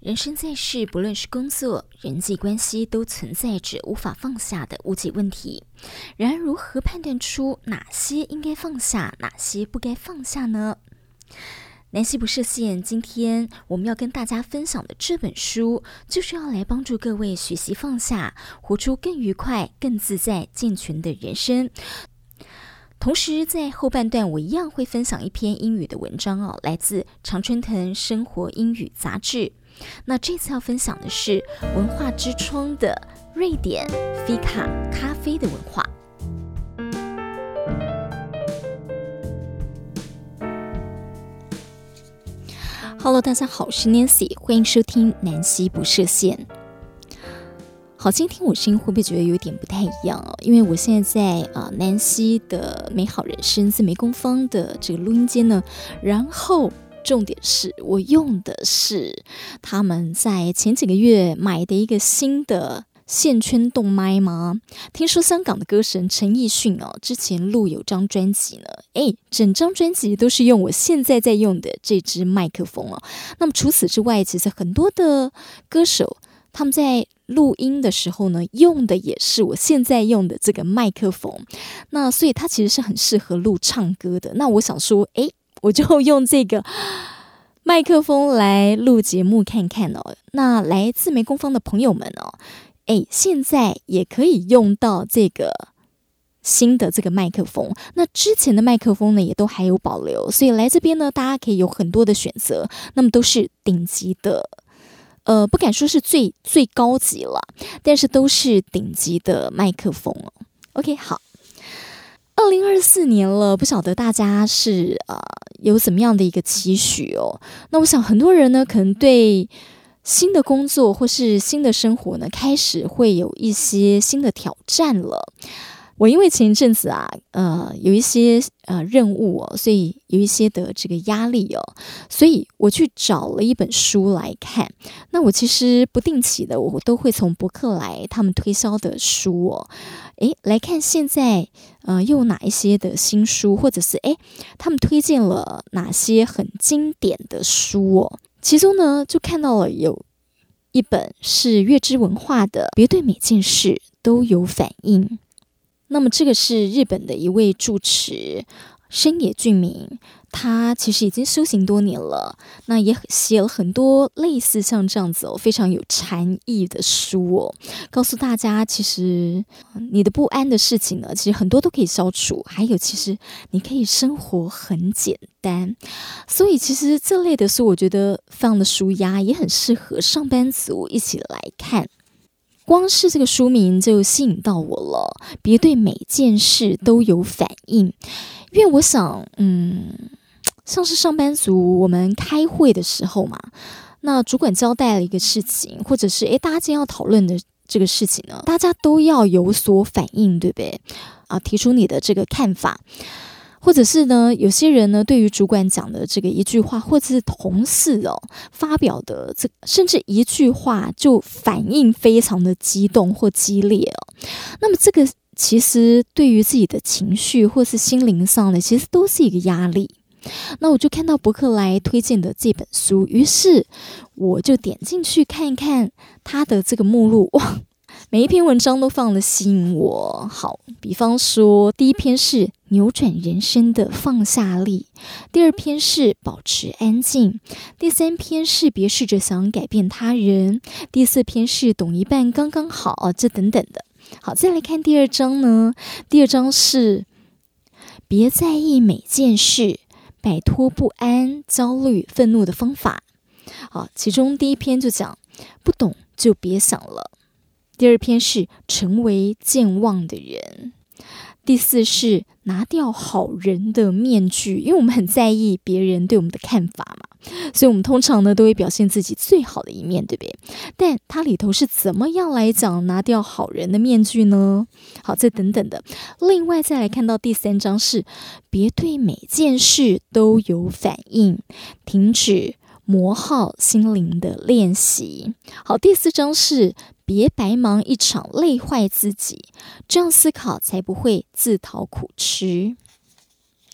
人生在世，不論是工作、人際關係，都存在着無法放下的無解問題。然而，如何判斷出哪些應該放下，哪些不該放下呢？南希不設限，今天我們要跟大家分享的這本書，就是要來幫助各位學習放下，活出更愉快、更自在、健全的人生。同時，在後半段，我一樣會分享一篇英語的文章來自常春藤生活英語雜誌。那這次要分享的是文化之窗的瑞典菲卡咖啡的文化。Hello， 大家好，我是 Nancy， 歡迎收聽南希不設限。好，今天我聲音會不會覺得有點不太一樣哦？因為我現在在南希的美好人生自媒工坊的這個錄音間呢，然後重點是我用的是他們在前幾個月買的一個新的線圈動麥嗎？聽說香港的歌神陳奕迅之前錄有張專輯呢，整張專輯都是用我現在在用的這支麥克風。那麼除此之外，其實很多的歌手他們在錄音的時候呢，用的也是我現在用的這個麥克風。那所以它其實是很適合錄唱歌的。那我想說，我就用這個麥克風來錄節目看看哦。那來自媒工坊的朋友們現在也可以用到這個新的這個麥克風。那之前的麥克風呢，也都還有保留，所以來這邊呢，大家可以有很多的選擇。那麼都是頂級的，不敢說是最高級了，但是都是頂級的麥克風哦。OK， 好。2024年了，不曉得大家是有怎麼樣的一個期許哦？那我想很多人呢，可能對新的工作或是新的生活呢，開始會有一些新的挑戰了。我因為前一陣子有一些任務哦，所以有一些的這個壓力哦，所以我去找了一本書來看。那我其實不定期的，我都會從博客來他們推銷的書哦，來看現在又有哪一些的新書，或者是他們推薦了哪些很經典的書哦。其中呢，就看到了有一本是月之文化的《別對每件事都有反應》。那麼這個是日本的一位住持深野俊明，他其實已經修行多年了，那也寫了很多類似像這樣子非常有禪意的書哦，告訴大家其實你的不安的事情呢，其實很多都可以消除，還有其實你可以生活很簡單。所以其實這類的書我覺得非常的舒壓，也很適合上班族一起來看。光是這個書名就吸引到我了，別對每件事都有反應。因為我想像是上班族我們開會的時候嘛，那主管交代了一個事情，或者是大家今天要討論的這個事情呢，大家都要有所反應，對不对？提出你的這個看法。或者是呢，有些人呢，對於主管講的這個一句話，或者是同事發表的甚至一句話就反應非常的激動或激烈哦。那麼這個其實對於自己的情緒或是心靈上的，其實都是一個壓力。那我就看到博客來推薦的這本書，於是我就點進去看一看它的這個目錄，哇！每一篇文章都非常的吸引我。好，比方說第一篇是扭轉人生的放下力，第二篇是保持安靜，第三篇是別試着想改變他人，第四篇是懂一半剛剛好，這等等的。好，再來看第二章呢，第二章是別在意每件事，擺脫不安、焦慮、憤怒的方法。好，其中第一篇就講不懂就別想了，第二篇是成為健忘的人，第四是拿掉好人的面具，因為我們很在意別人對我們的看法嘛，所以我們通常呢都會表現自己最好的一面，對不對？但它裡頭是怎麼樣來講拿掉好人的面具呢？好，這等等的。另外再來看到第三章是別對每件事都有反應，停止磨耗心靈的練習。好，第四章是別白忙一場，累壞自己，這樣思考才不會自討苦吃。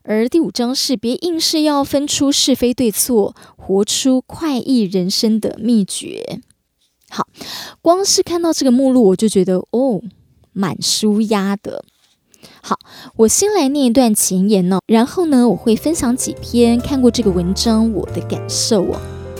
而第5章是別硬是要分出是非對錯，活出快意人生的秘訣。好，光是看到這個目錄我就覺得蠻舒壓的。好，我先來念一段前言哦，然後呢，我會分享幾篇看過這個文章我的感受哦。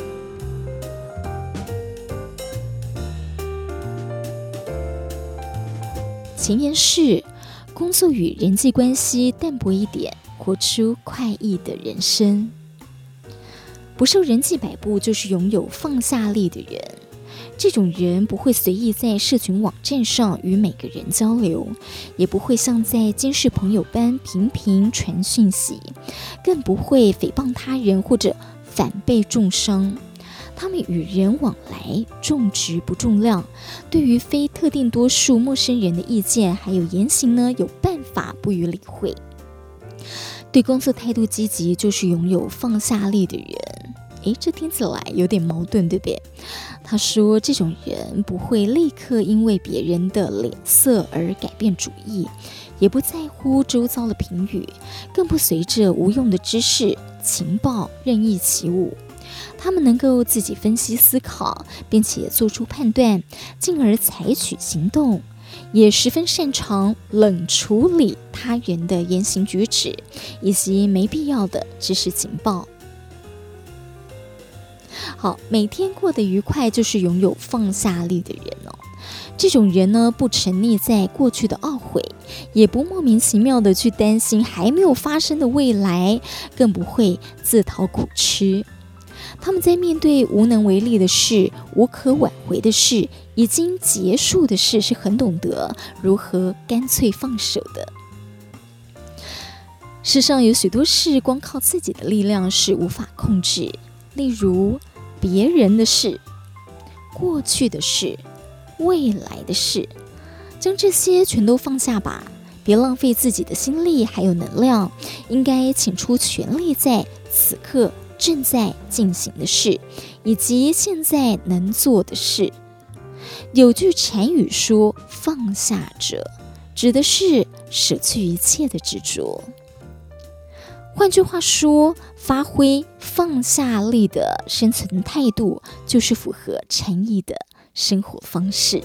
前言是：工作與人際關係淡薄一點，活出快意的人生。不受人際擺布，就是擁有放下力的人。這種人不會隨意在社群網站上與每個人交流，也不會像在監視朋友般頻頻傳訊息，更不會誹謗他人或者反被重傷。他們與人往來重質不重量，對於非特定多數陌生人的意見還有言行呢，有辦法不予理會。對工作態度積極，就是擁有放下力的人。這聽起來有點矛盾，對不對？他說，這種人不會立刻因為別人的臉色而改變主意，也不在乎周遭的評語，更不隨着無用的知識、情報任意起舞。他們能夠自己分析思考，並且做出判斷，進而採取行動，也十分擅長冷處理他人的言行舉止，以及沒必要的知識情報。好，每天過得愉快，就是擁有放下力的人哦。這種人呢，不沉溺在過去的懊悔，也不莫名其妙的去擔心還沒有發生的未來，更不會自討苦吃。他們在面對無能為力的事、無可挽回的事、已經結束的事，是很懂得如何乾脆放手的。世上有許多事，光靠自己的力量是無法控制，例如別人的事、過去的事、未來的事，將這些全都放下吧，別浪費自己的心力還有能量，應該傾出全力在此刻正在進行的事，以及現在能做的事。有句禪語說，放下者，指的是捨去一切的執着。換句話說，發揮放下力的生存態度，就是符合禪意的生活方式。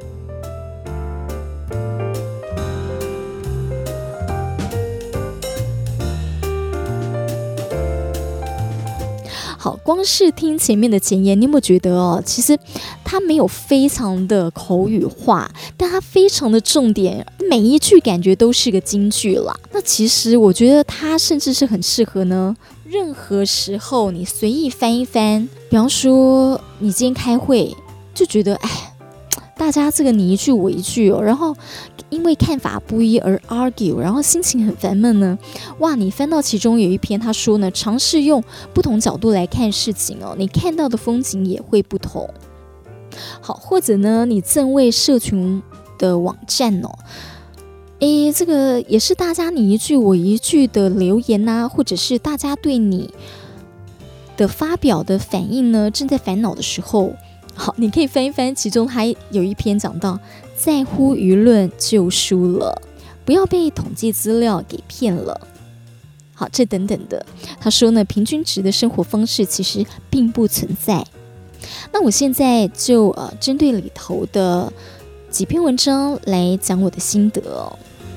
好，光是聽前面的前言，你有沒有覺得其實它沒有非常的口語化，但它非常的重點，每一句感覺都是個金句啦。那其實我覺得它甚至是很適合呢，任何時候你隨意翻一翻。比方說，你今天開會就覺得，大家這個你一句我一句然後因為看法不一而 argue， 然後心情很煩悶呢。哇，你翻到其中有一篇，他說呢，嘗試用不同角度來看事情你看到的風景也會不同。好，或者呢，你正為社群的網站這個也是大家你一句我一句的留言啊，或者是大家對你的發表的反應呢，正在煩惱的時候，好，你可以翻一翻，其中還有一篇講到，在乎輿論就輸了，不要被統計資料給騙了。好，這等等的，他說呢，平均值的生活方式其實並不存在。那我現在就針對裡頭的幾篇文章來講我的心得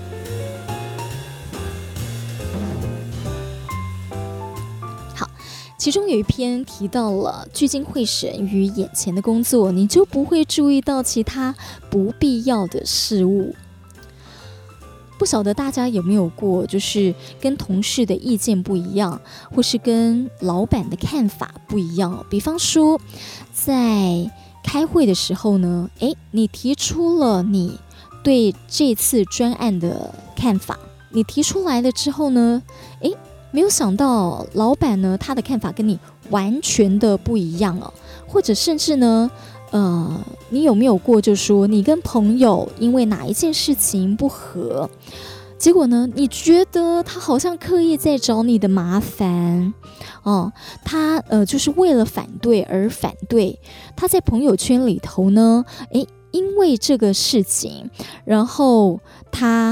好，其中有一篇提到了聚精會神於眼前的工作，你就不會注意到其他不必要的事物。不曉得大家有沒有過，就是跟同事的意見不一樣，或是跟老闆的看法不一樣。比方說，在開會的時候呢，你提出了你對這次專案的看法，你提出來了之後呢，沒有想到老闆呢，他的看法跟你完全的不一樣或者甚至呢，你有沒有過，就是說你跟朋友因為哪一件事情不合，結果呢，你覺得他好像刻意在找你的麻煩他就是為了反對而反對。他在朋友圈裡頭呢，因為這個事情，然後他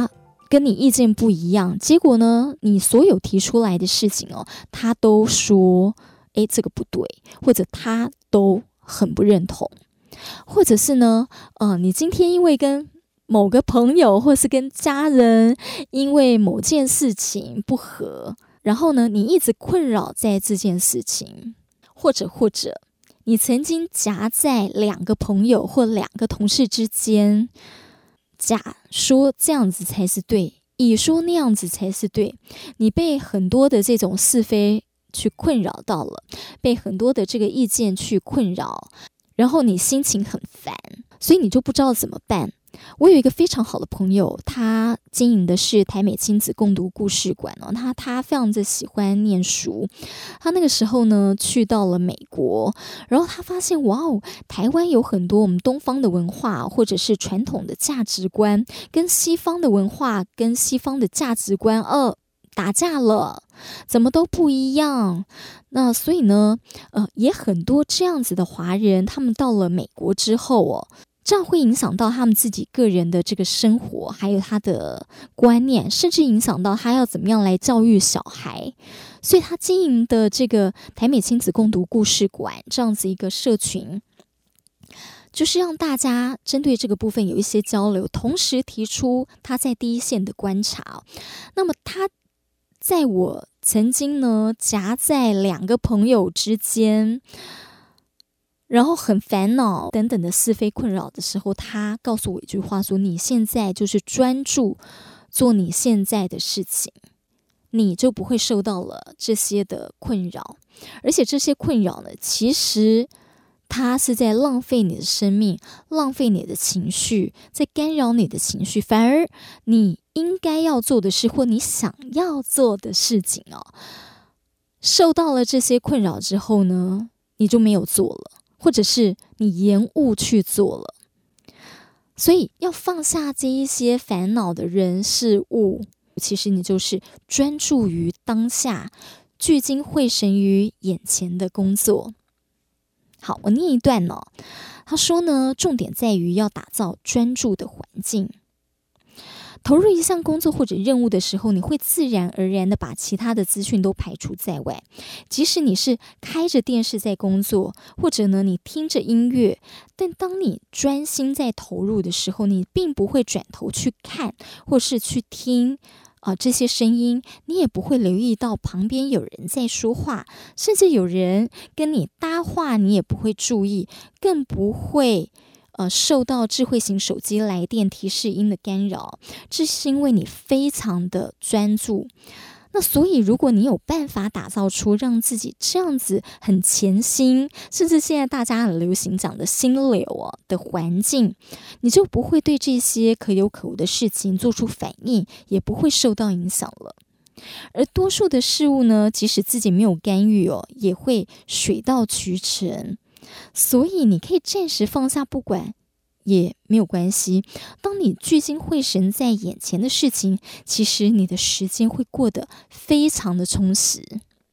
跟你意見不一樣，結果呢，你所有提出來的事情哦，他都說，這個不對，或者他都很不認同，或者是呢，你今天因為跟某個朋友或是跟家人因為某件事情不合，然後呢，你一直困擾在這件事情，或者你曾經夾在兩個朋友或兩個同事之間，甲說這樣子才是對，乙說那樣子才是對，你被很多的這種是非去困擾到了，被很多的這個意見去困擾，然後你心情很煩，所以你就不知道怎麼辦。我有一個非常好的朋友，他經營的是台美親子共讀故事館哦，他非常的喜歡念書。他那個時候呢，去到了美國，然後他發現哇哦，台灣有很多我們東方的文化或者是傳統的價值觀，跟西方的文化跟西方的價值觀打架了，怎麼都不一樣。那所以呢，也很多這樣子的華人，他們到了美國之後哦，這樣會影響到他們自己個人的這個生活，還有他的觀念，甚至影響到他要怎麼樣來教育小孩。所以他經營的這個台美親子共讀故事館這樣子一個社群，就是讓大家針對這個部分有一些交流，同時提出他在第一線的觀察。那麼他在我曾經呢夾在兩個朋友之間，然後很煩惱等等的是非困擾的時候，他告訴我一句話說，你現在就是專注做你現在的事情，你就不會受到了這些的困擾。而且這些困擾呢，其實它是在浪費你的生命，浪費你的情緒，在干擾你的情緒。反而你應該要做的事，或你想要做的事情受到了這些困擾之後呢，你就沒有做了，或者是你延誤去做了。所以要放下這一些煩惱的人事物，其實你就是專注於當下，聚精會神於眼前的工作。好，我念一段哦。他說呢，重點在於要打造專注的環境。投入一項工作或者任務的時候，你會自然而然的把其他的資訊都排除在外。即使你是開着電視在工作，或者呢你聽着音樂，但當你專心在投入的時候，你並不會轉頭去看或是去聽這些聲音，你也不會留意到旁邊有人在說話，甚至有人跟你搭話，你也不會注意，更不會受到智慧型手機來電提示音的干擾。這是因為你非常的專注。那所以如果你有辦法打造出讓自己這樣子很潛心，甚至現在大家很流行講的心流的環境，你就不會對這些可有可無的事情做出反應，也不會受到影響了。而多數的事物呢，即使自己沒有干預也會水到渠成。所以你可以暫時放下不管也沒有關係。當你聚精會神在眼前的事情，其實你的時間會過得非常的充實。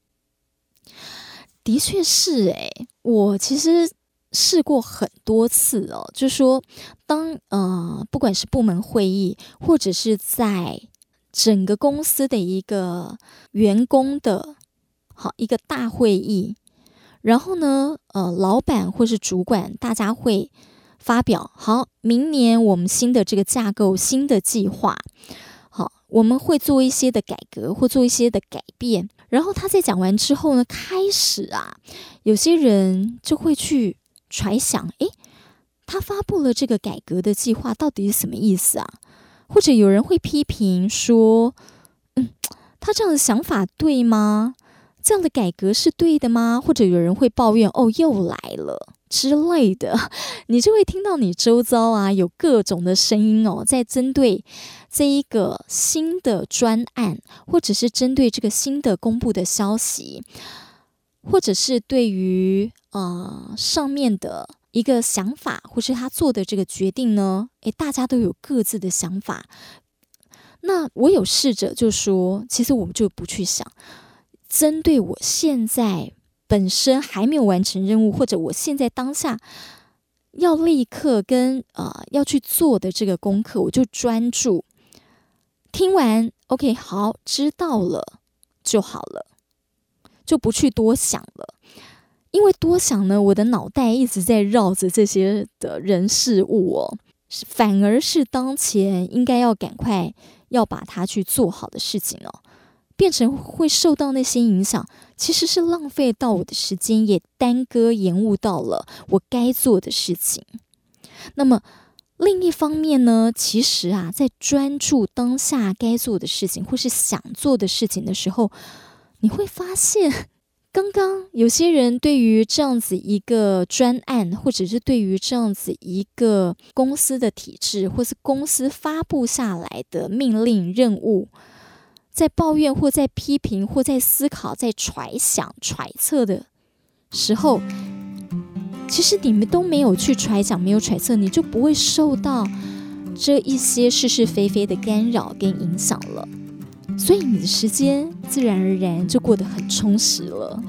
的確是我其實試過很多次就是說當不管是部門會議，或者是在整個公司的一個員工的一個大會議，然後呢老闆或是主管大家會發表，好，明年我們新的這個架構，新的計劃，好，我們會做一些的改革或做一些的改變。然後他在講完之後呢，開始有些人就會去揣想，他發布了這個改革的計劃到底是什麼意思啊？或者有人會批評說，他這樣的想法對嗎？這樣的改革是對的嗎？或者有人會抱怨，又來了之類的，你就會聽到你周遭有各種的聲音在針對這一個新的專案，或者是針對這個新的公布的消息，或者是對於上面的一個想法，或是他做的這個決定呢，大家都有各自的想法。那我有試着就說，其實我們就不去想，針對我現在本身還沒有完成任務，或者我現在當下要立刻跟要去做的這個功課，我就專注聽完 OK 好，知道了就好了，就不去多想了。因為多想呢，我的腦袋一直在繞着這些的人事物哦，反而是當前應該要趕快要把它去做好的事情哦，變成會受到那些影響，其實是浪費到我的時間，也耽擱延誤到了我該做的事情。那麼另一方面呢，其實啊，在專注當下該做的事情或是想做的事情的時候，你會發現剛剛有些人對於這樣子一個專案，或者是對於這樣子一個公司的體制，或是公司發布下來的命令任務，在抱怨或在批評或在思考、在揣想、揣測的時候，其實你們都沒有去揣想、沒有揣測，你就不會受到這一些是是非非的干擾跟影響了。所以你的時間自然而然就過得很充實了。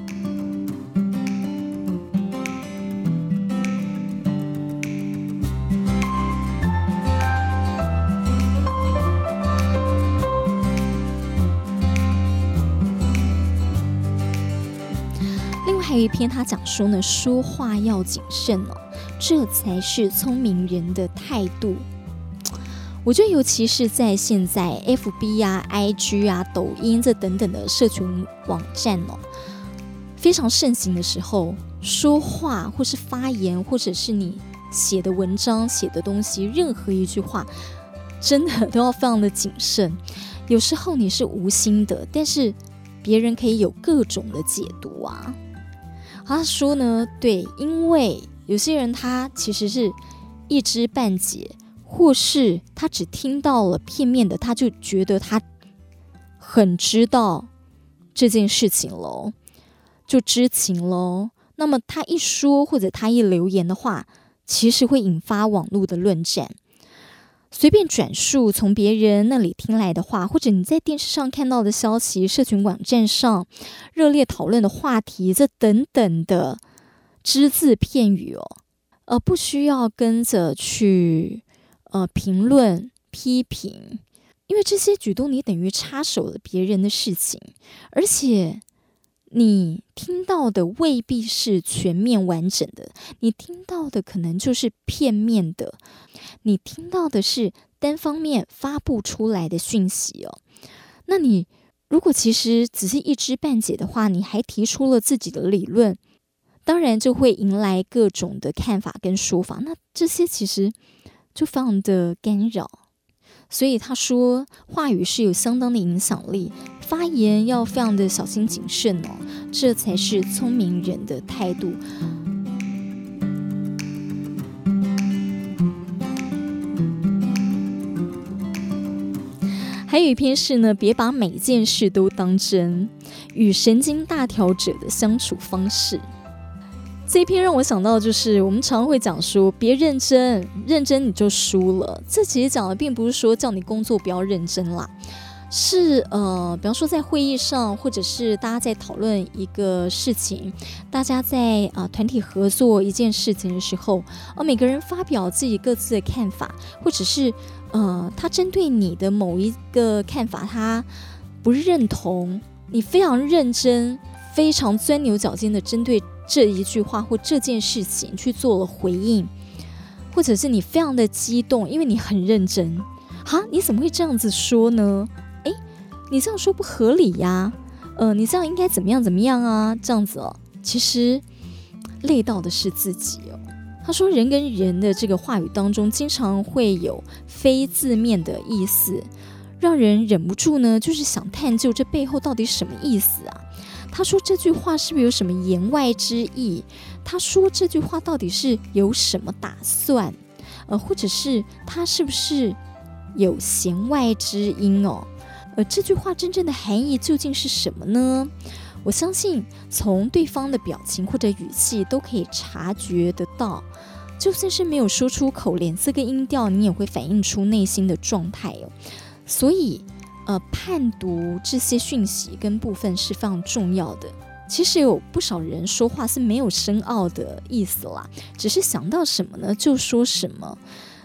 另外還有一篇他講說呢，說話要謹慎哦，這才是聰明人的態度。我覺得尤其是在現在 FB 啊、IG 啊、抖音這等等的社群網站哦，非常盛行的時候，說話或是發言，或者是你寫的文章、寫的東西，任何一句話，真的都要非常的謹慎。有時候你是無心的，但是別人可以有各種的解讀啊。他說呢，對，因為有些人他其實是一知半解，或是他只聽到了片面的，他就覺得他很知道這件事情咯，就知情咯。那麼他一說或者他一留言的話，其實會引發網絡的論戰。隨便轉述從別人那裡聽來的話，或者你在電視上看到的消息，社群網站上熱烈討論的話題，這等等的只字片語哦，不需要跟着去評論批評，因為這些舉動你等於插手了別人的事情，而且你聽到的未必是全面完整的，你聽到的可能就是片面的，你聽到的是單方面發布出來的訊息哦。那你如果其實只是一知半解的話，你還提出了自己的理論，當然就會迎來各種的看法跟說法，那這些其實就非常的干擾。所以他說話語是有相當的影響力，發言要非常的小心謹慎哦，這才是聰明人的態度。還有一篇是呢，別把每件事都當真，與神經大條者的相處方式。這一篇讓我想到，就是我們常會講說，別認真，認真你就輸了。這其實講的並不是說叫你工作不要認真啦，是比方說在會議上，或者是大家在討論一個事情，大家在團體合作一件事情的時候，每個人發表自己各自的看法，或者是他針對你的某一個看法，他不認同，你非常認真，非常鑽牛角尖的針對這一句話或這件事情去做了回應，或者是你非常的激動，因為你很認真。你怎麼會這樣子說呢？你這樣說不合理呀，你這樣應該怎麼樣怎麼樣啊，這樣子哦，其實累到的是自己哦。他說人跟人的這個話語當中，經常會有非字面的意思，讓人忍不住呢，就是想探究這背後到底什麼意思啊。他說這句話是不是有什麼言外之意？他說這句話到底是有什麼打算？或者是他是不是有弦外之音哦？這句話真正的含義究竟是什麼呢？我相信從對方的表情或者語氣都可以察覺得到，就算是沒有說出口，臉色跟音調你也會反映出內心的狀態哦。所以判讀這些訊息跟部分是非常重要的。其實有不少人說話是沒有深奧的意思啦，只是想到什麼呢就說什麼。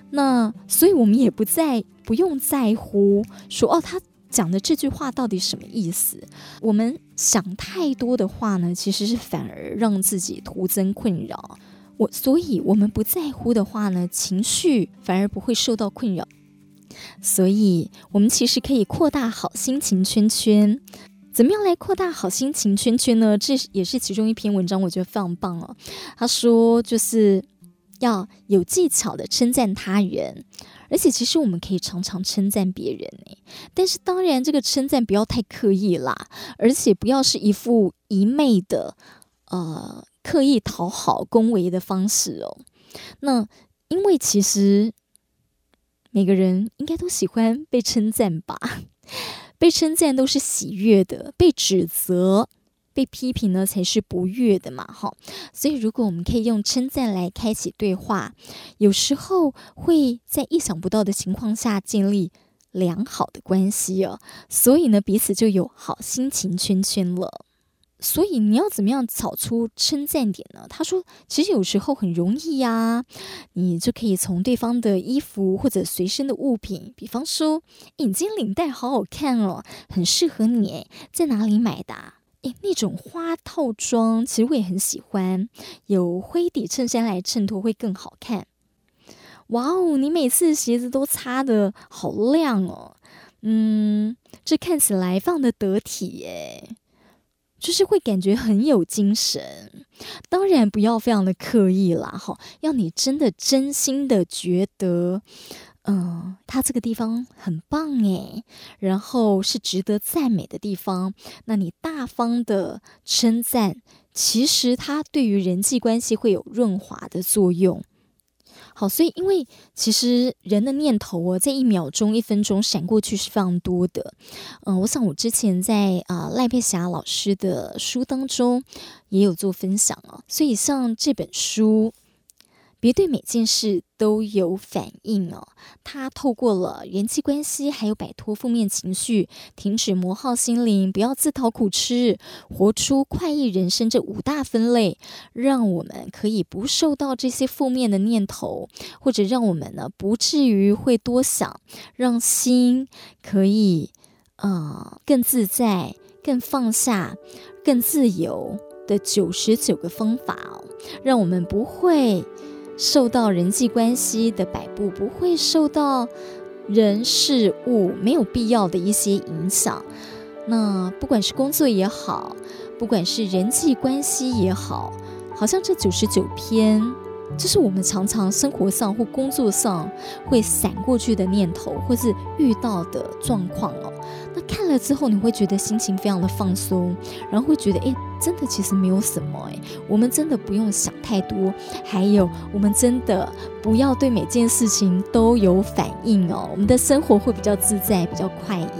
那所以我們也不用在乎說他講的這句話到底什麼意思。我們想太多的話呢，其實是反而讓自己徒增困擾。所以我們不在乎的話呢，情緒反而不會受到困擾。所以我們其實可以擴大好心情圈圈。怎麼樣來擴大好心情圈圈呢？這也是其中一篇文章，我覺得非常棒哦。他說就是要有技巧的稱讚他人，而且其實我們可以常常稱讚別人，但是當然這個稱讚不要太刻意啦，而且不要是一副一昧的刻意討好恭維的方式哦。那因為其實每個人應該都喜歡被稱讚吧，被稱讚都是喜悅的，被指責被批評呢才是不悅的嘛，所以如果我們可以用稱讚來開啟對話，有時候會在意想不到的情況下建立良好的關係哦，所以呢彼此就有好心情圈圈了。所以你要怎麼樣找出稱讚點呢？他說其實有時候很容易呀，你就可以從對方的衣服或者隨身的物品，比方說你今天領帶好好看哦，很適合你，在哪裡買的啊？那種花套裝其實我也很喜歡，有灰底襯衫來襯托會更好看。哇哦，你每次鞋子都擦得好亮哦，這看起來放得得體耶，就是會感覺很有精神。當然不要非常的刻意啦，要你真的真心的覺得他這個地方很棒耶，然後是值得讚美的地方，那你大方的稱讚，其實它對於人際關係會有潤滑的作用。好，所以因為其實人的念頭在1秒鐘、1分鐘閃過去是非常多的。我想我之前在賴佩霞老師的書當中也有做分享啊，所以像這本書別對每件事都有反應哦。它透過了人際關係，還有擺脫負面情緒，停止磨耗心靈，不要自討苦吃，活出快意人生這5大分類，讓我們可以不受到這些負面的念頭，或者讓我們呢不至於會多想，讓心可以更自在、更放下、更自由的99個方法哦，讓我們不會受到人際關係的擺布，不會受到人事物沒有必要的一些影響。那不管是工作也好，不管是人際關係也好，好像這99篇，這是我們常常生活上或工作上會閃過去的念頭，或是遇到的狀況哦。那看了之後，你會覺得心情非常的放鬆，然後會覺得真的其實沒有什麼我們真的不用想太多，還有我們真的不要對每件事情都有反應哦，我們的生活會比較自在，比較快意。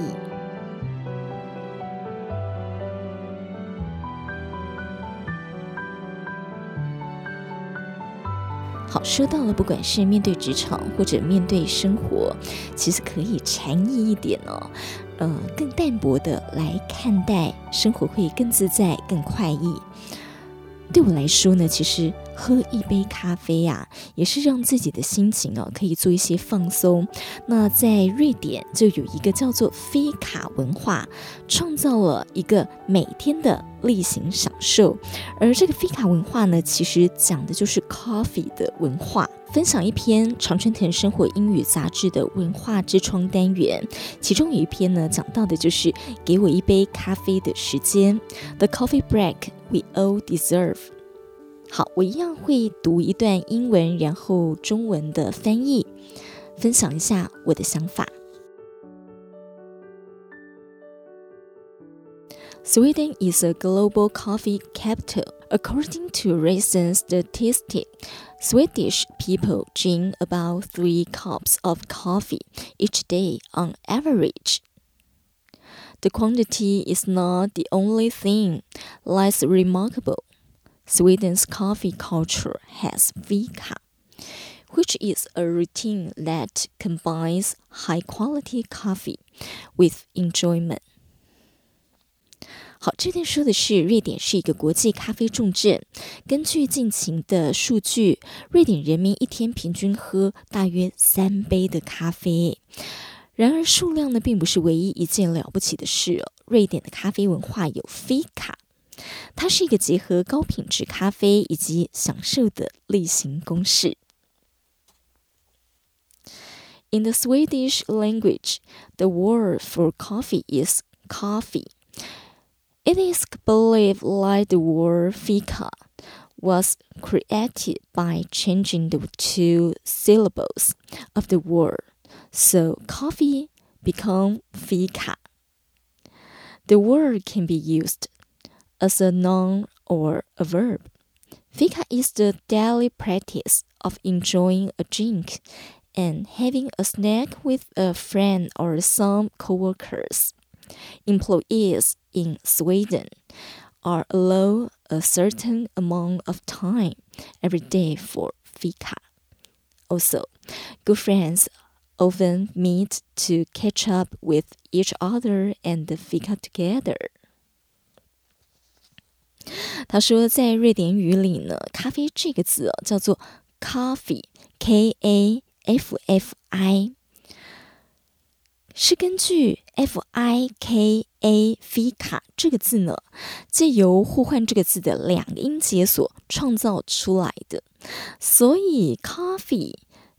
好，說到了，不管是面對職場或者面對生活，其實可以禪意一點哦，更淡薄的來看待生活，會更自在、更快意。對我來說呢，其實喝一杯咖啡也是讓自己的心情可以做一些放鬆。那在瑞典就有一個叫做菲卡文化，創造了一個每天的例行享受。而這個菲卡文化呢，其實講的就是 coffee 的文化。分享一篇常春藤生活英語雜誌的文化之窗單元，其中有一篇呢，講到的就是給我一杯咖啡的時間 The coffee break we all deserve。 好，我一樣會讀一段英文然後中文的翻譯，分享一下我的想法。Sweden is a global coffee capital. According to recent statistics, Swedish people drink about 3 cups of coffee each day on average. The quantity is not the only thing that's remarkable. Sweden's coffee culture has fika, which is a routine that combines high-quality coffee with enjoyment. 好，這段說的是瑞典是一個國際咖啡重鎮。根據近期的數據，瑞典人民一天平均喝大約3杯的咖啡。然而數量呢，並不是唯一一件了不起的事哦。瑞典的咖啡文化有 Fika， 它是一個結合高品質咖啡以及享受的例行公事。In the Swedish language, the word for coffee is coffee. It is believed that the word fika was created by changing the 2 syllables of the word, so coffee became fika. The word can be used as a noun or a verb. Fika is the daily practice of enjoying a drink and having a snack with a friend or some coworkers.Employees in Sweden are allowed a certain amount of time every day for fika. Also, good friends often meet to catch up with each other and fika together. 他說，在瑞典語裡呢，咖啡這個字叫做 coffee, K-A-F-F-I。是根據 Fika Fika 這個字呢，借由互換這個字的2個音節所創造出來的，所以 coffee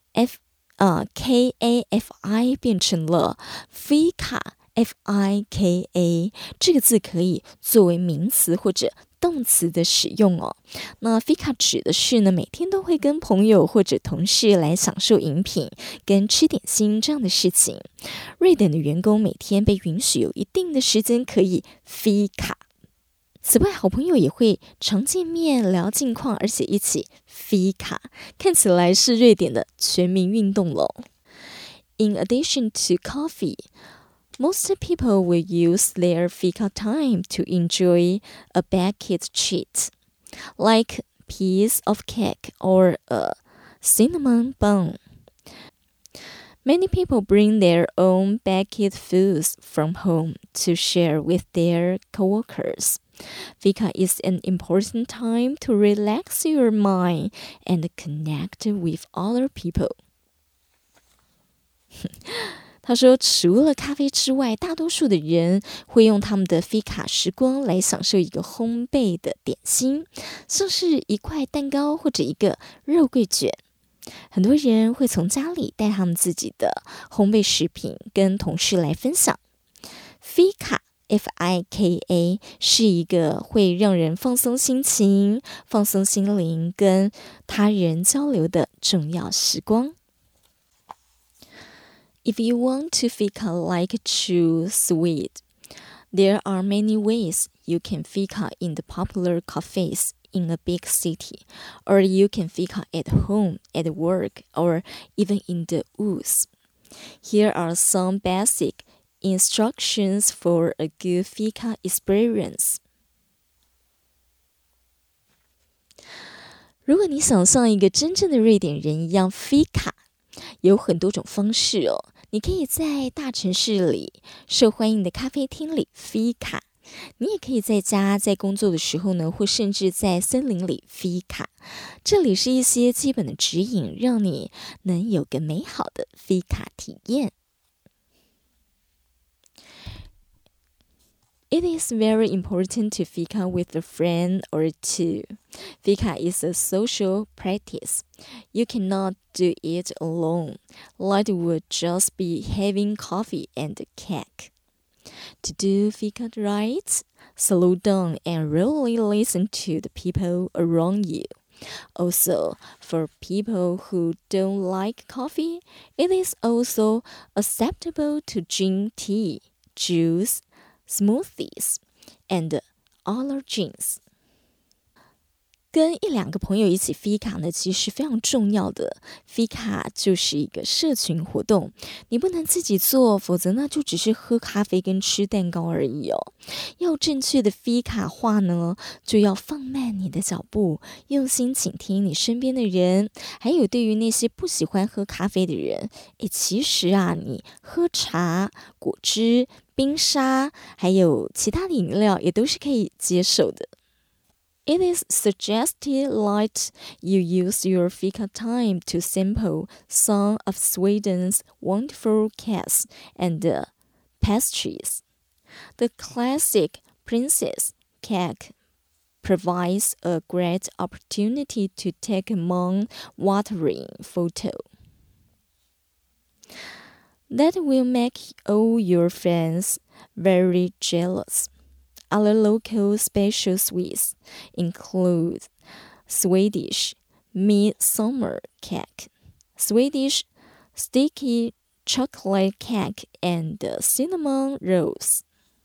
K-A-F-I 變成了 Fika F-I-K-A， 這個字可以作為名詞或者動詞的使用哦。那 Fika 指的是呢，每天都會跟朋友或者同事來享受飲品跟吃點心這樣的事情。瑞典的員工每天被允許有一定的時間可以 Fika。此外，好朋友也會常見面聊近況，而且一起 Fika， 看起來是瑞典的全民運動咯。In addition to coffee,Most people will use their fika time to enjoy a baked treat, like a piece of cake or a cinnamon bun. Many people bring their own baked foods from home to share with their coworkers. Fika is an important time to relax your mind and connect with other people. 他說，除了咖啡之外，大多數的人會用他們的 Fika 時光來享受一個烘焙的點心，像是一塊蛋糕或者一個肉桂卷。很多人會從家裡帶他們自己的烘焙食品跟同事來分享。Fika F-I-K-A 是一個會讓人放鬆心情、放鬆心靈跟他人交流的重要時光。If you want to fika like a true Swede, there are many ways you can fika in the popular cafes in a big city, or you can fika at home, at work, or even in the woods. Here are some basic instructions for a good fika experience. 如果你想像一個真正的瑞典人一樣 fika， 有很多種方式哦。你可以在大城市裡受歡迎的咖啡廳裡 Fika， 你也可以在家在工作的時候呢，或甚至在森林裡 Fika。這裡是一些基本的指引，讓你能有個美好的 Fika 體驗。It is very important to fika with a friend or two. Fika is a social practice. You cannot do it alone. That would just be having coffee and cake. To do fika right, slow down and really listen to the people around you. Also, for people who don't like coffee, it is also acceptable to drink tea, juice,smoothies and other drinks. 跟1-2個朋友一起 Fika 呢，其實非常重要的。Fika 就是一個社群活動，你不能自己做，否則呢就只是喝咖啡跟吃蛋糕而已哦。要正確的 Fika 話呢，就要放慢你的腳步，用心傾聽你身邊的人。還有對於那些不喜歡喝咖啡的人，其實啊，你喝茶、果汁、 冰沙還有其他的飲料也都是可以接受的。It is suggested that you use your fika time to sample some of Sweden's wonderful cakes and pastries. The classic princess cake provides a great opportunity to take a mouth-watering photo that will make all your friends very jealous. Other local special sweets include Swedish midsummer cake, Swedish sticky chocolate cake, and cinnamon rolls.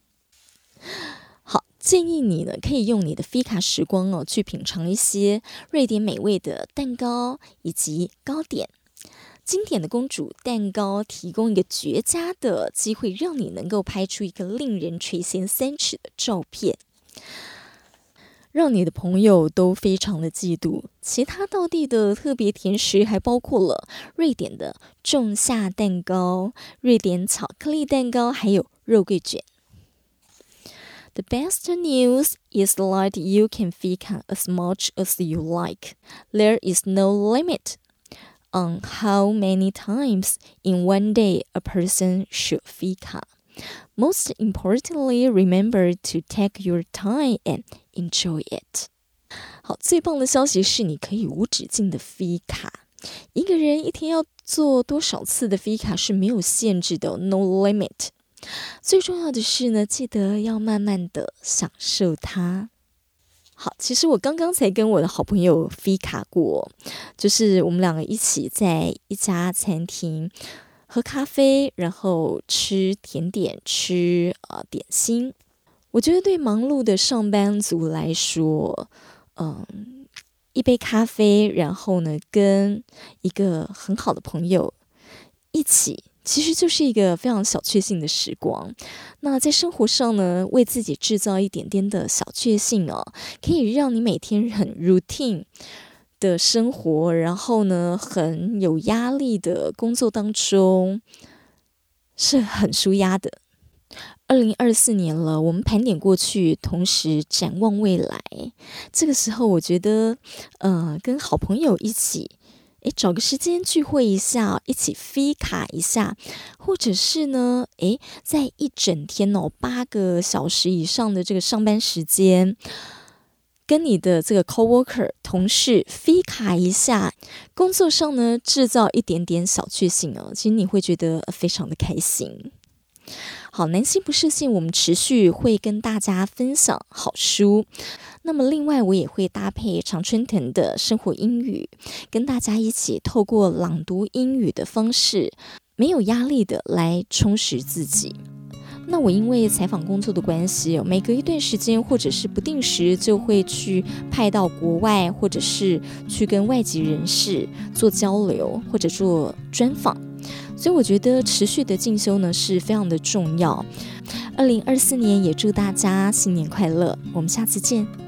好，建議你呢可以用你的 Fika 時光去品嘗一些瑞典美味的蛋糕以及糕點。經典的公主蛋糕提供一個絕佳的機會，讓你能夠拍出一個令人垂涎三尺的照片，讓你的朋友都非常的嫉妒。其他道地的特別甜食還包括了瑞典的仲夏蛋糕、瑞典巧克力蛋糕，還有肉桂卷。The best news is that you can fika as much as you like. There is no limit on how many times in one day a person should fika. Most importantly, remember to take your time and enjoy it. 好，最棒的消息是你可以無止境的 fika。一個人一天要做多少次的 fika 是沒有限制的 ，no limit。最重要的是呢，記得要慢慢的享受它。好，其實我剛剛才跟我的好朋友 Fika 過，就是我們兩個一起在一家餐廳喝咖啡，然後吃甜點，吃點心。我覺得對忙碌的上班族來說，一杯咖啡，然後呢跟一個很好的朋友一起，其實就是一個非常小確幸的時光。那在生活上呢，為自己製造一點點的小確幸可以讓你每天很 routine 的生活，然後呢很有壓力的工作當中是很舒壓的。2024年了，我們盤點過去，同時展望未來。這個時候我覺得跟好朋友一起找個時間聚會一下，一起 fika 一下，或者是呢，在一整天8個小時以上的這個上班時間，跟你的這個 coworker 同事 fika 一下，工作上呢製造一點點小確幸其實你會覺得非常的開心。好，南希不設限，我們持續會跟大家分享好書。那麼另外我也會搭配常春藤的生活英語，跟大家一起透過朗讀英語的方式，沒有壓力的來充實自己。那我因為採訪工作的關係，每隔一段時間或者是不定時就會去派到國外，或者是去跟外籍人士做交流或者做專訪。所以我覺得持續的進修呢是非常的重要。2024年也祝大家新年快樂，我們下次見。